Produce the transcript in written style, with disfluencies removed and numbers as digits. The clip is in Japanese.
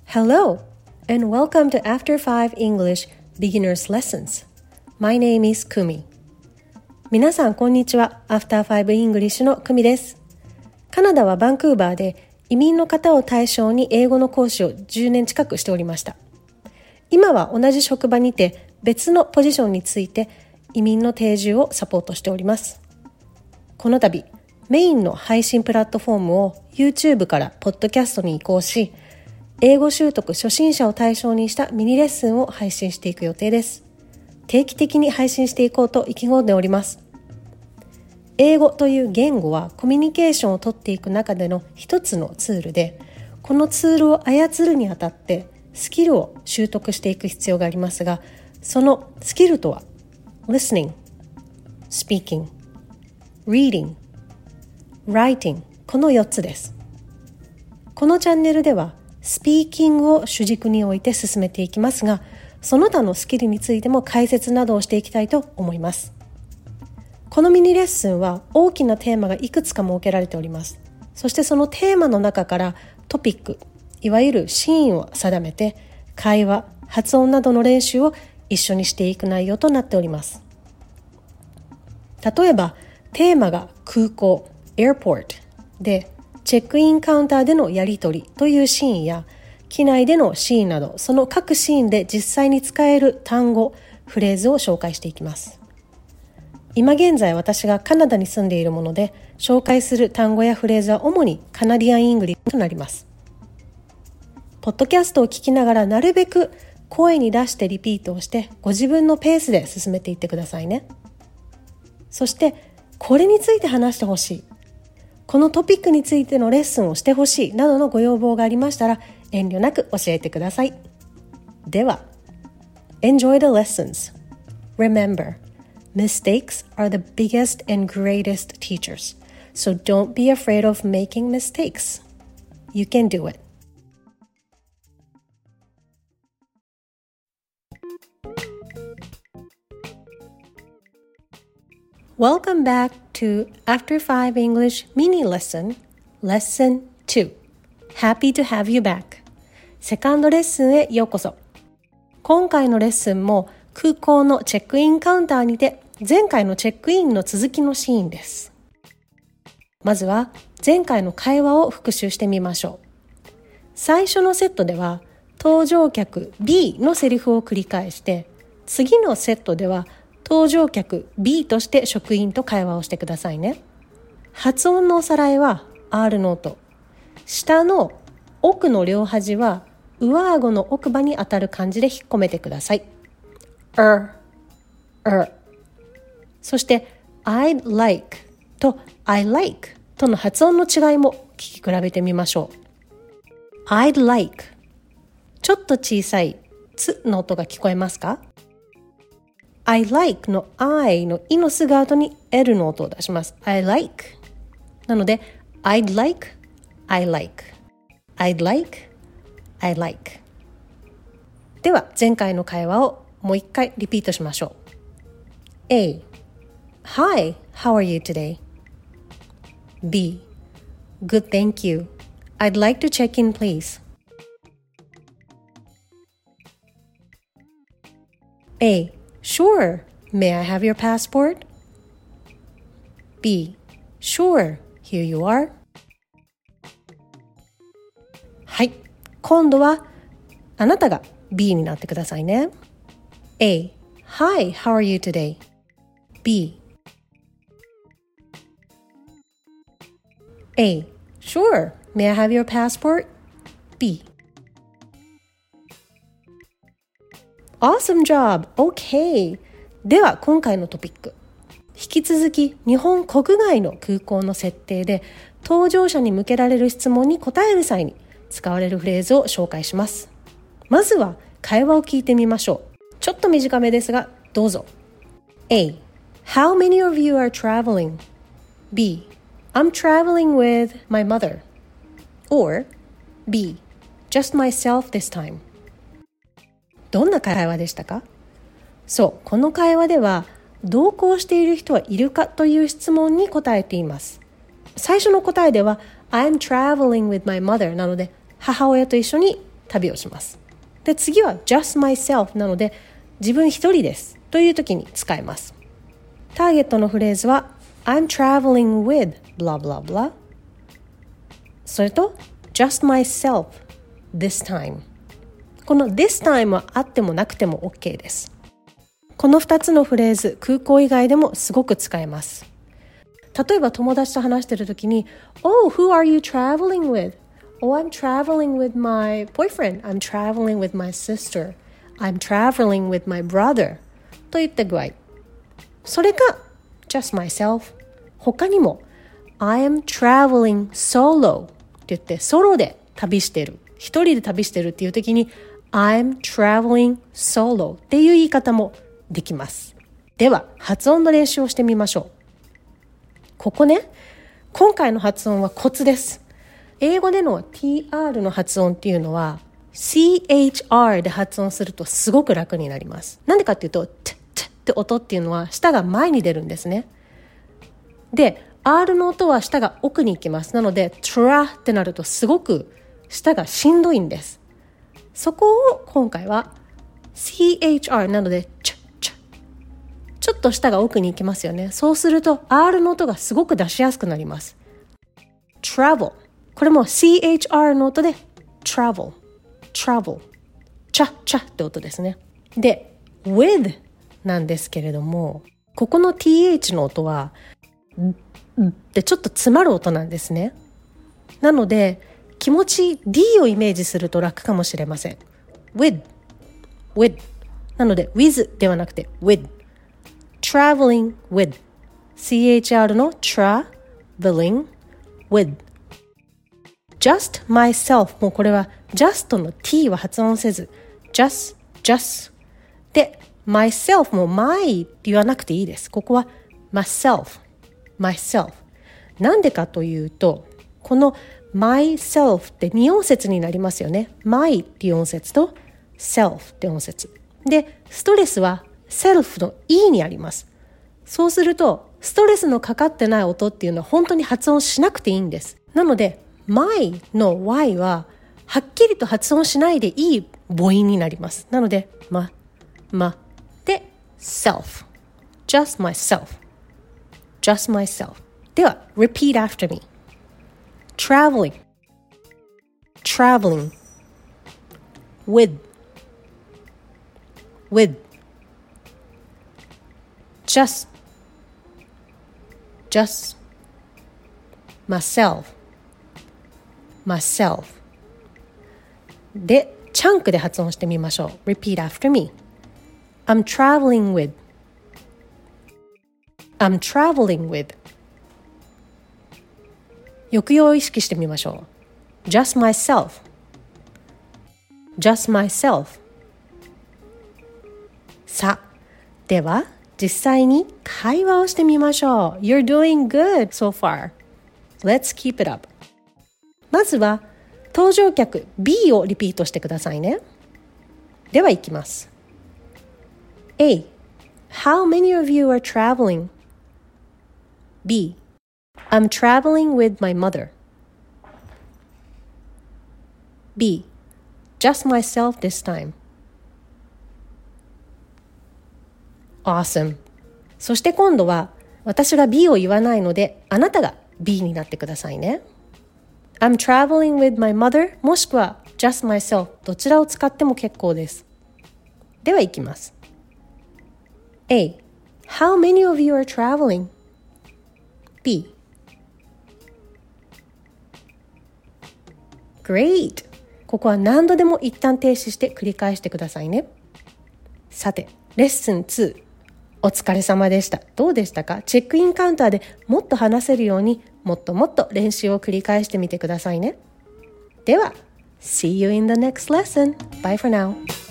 Hello, and welcome to After 5 English Beginner's Lessons. My name is Kumi. 皆さん、こんにちは。After 5 English のKumiです。カナダはバンクーバーで移民の方を対象に英語の講師を10年近くしておりました。今は同じ職場にて別のポジションについて移民の定住をサポートしております。この度、メインの配信プラットフォームを YouTube からポッドキャストに移行し、英語習得初心者を対象にしたミニレッスンを配信していく予定です。定期的に配信していこうと意気込んでおります。英語という言語はコミュニケーションをとっていく中での一つのツールで、このツールを操るにあたってスキルを習得していく必要がありますが、そのスキルとは listening, speaking, reading, writing この4つです。このチャンネルではスピーキングを主軸に置いて進めていきますが、その他のスキルについても解説などをしていきたいと思います。このミニレッスンは大きなテーマがいくつか設けられております。そしてそのテーマの中からトピック、いわゆるシーンを定めて、会話、発音などの練習を一緒にしていく内容となっております。例えば、テーマが空港、airport で、チェックインカウンターでのやり取りというシーンや、機内でのシーンなど、その各シーンで実際に使える単語、フレーズを紹介していきます。今現在私がカナダに住んでいるもので、紹介する単語やフレーズは主にカナディアン・イングリッシュとなります。ポッドキャストを聞きながらなるべく声に出してリピートをして、ご自分のペースで進めていってくださいね。そして、これについて話してほしい。このトピックについてのレッスンをしてほしいなどのご要望がありましたら遠慮なく教えてください。では、Enjoy the lessons. Remember, mistakes are the biggest and greatest teachers. So don't be afraid of making mistakes. You can do it. Welcome back to After 5 English Mini Lesson, Lesson 2. Happy to have you back. セカンドレッスンへようこそ。今回のレッスンも空港のチェックインカウンターにて前回のチェックインの続きのシーンです。まずは前回の会話を復習してみましょう。最初のセットでは搭乗客 B のセリフを繰り返して、次のセットでは搭乗客 B として職員と会話をしてくださいね。発音のおさらいは R の音。下の奥の両端は上顎の奥歯に当たる感じで引っ込めてください。そして I'd like と I like との発音の違いも聞き比べてみましょう。I'd like ちょっと小さいつの音が聞こえますか？I like の I のいのすぐ後に L の音を出します。I like なので I'd like, I like I'd like, I like では前回の会話をもう一回リピートしましょう。A Hi, how are you today? B Good, thank you. I'd like to check in, please. A Sure. May I have your passport? B. Sure. Here you are. はい。今度はあなたが B になってくださいね。A. Hi, how are you today? B. A. Sure. May I have your passport? B. Awesome job! OK! では今回のトピック。引き続き日本国外の空港の設定で搭乗者に向けられる質問に答える際に使われるフレーズを紹介します。まずは会話を聞いてみましょう。ちょっと短めですがどうぞ。A. How many of you are traveling? B. I'm traveling with my mother. Or B. Just myself this time.どんな会話でしたか？そう、この会話では同行している人はいるかという質問に答えています。最初の答えでは I'm traveling with my mother なので母親と一緒に旅をします。で、次は just myself なので自分一人ですという時に使います。ターゲットのフレーズは I'm traveling with blah blah blah それと just myself this time この this time はあってもなくても OK です。この2つのフレーズ空港以外でもすごく使えます。例えば友達と話している時に Oh, who are you traveling with?Oh, I'm traveling with my boyfriend. I'm traveling with my sister. I'm traveling with my brother. といった具合。それか just myself。他にも I am traveling solo って言ってソロで旅してる。一人で旅してるっていう時に I'm traveling solo っていう言い方もできます。では発音の練習をしてみましょう。ここね、今回の発音はコツです。英語での TR の発音っていうのは CHR で発音するとすごく楽になります。なんでかっていうと t って音っていうのは舌が前に出るんですね。で R の音は舌が奥に行きます。なので tra ってなるとすごく舌がしんどいんです。そこを今回は CHR なのでちょっと舌が奥に行きますよね。そうすると R の音がすごく出しやすくなります。 travelこれも CHR の音で travel チャって音ですね。で with なんですけれども、ここの TH の音はでちょっと詰まる音なんですね。なので気持ち D をイメージすると楽かもしれません。 with なので with ではなくて with traveling with CHR の traveling with just myself もうこれは just の t は発音せず just で myself も my って言わなくていいです。ここは myself なんでかというとこの myself って2音節になりますよね。 my っていう音節と self って音節でストレスは self の e にあります。そうするとストレスのかかってない音っていうのは本当に発音しなくていいんです。なのでmy の y ははっきりと発音しないでいい母音になります。なのでで self just myself では repeat after me traveling with just myselfでチャンクで発音してみましょう。 Repeat after me I'm traveling with 抑揚を意識してみましょう。 Just myself さあでは実際に会話をしてみましょう。 You're doing good so far. Let's keep it up. まずは登場客 B をリピートしてくださいね。では行きます。 A. How many of you are traveling? B. I'm traveling with my mother. B. Just myself this time. Awesome. そして今度は私が B を言わないのであなたが B になってくださいね。I'm traveling with my mother もしくは just myself どちらを使っても結構です。では行きます。 A. How many of you are traveling? B. Great! ここは何度でも一旦停止して繰り返してくださいね。さて、レッスン2お疲れ様でした。どうでしたか？チェックインカウンターでもっと話せるようにもっともっと練習を繰り返してみてくださいね。では、See you in the next lesson. Bye for now.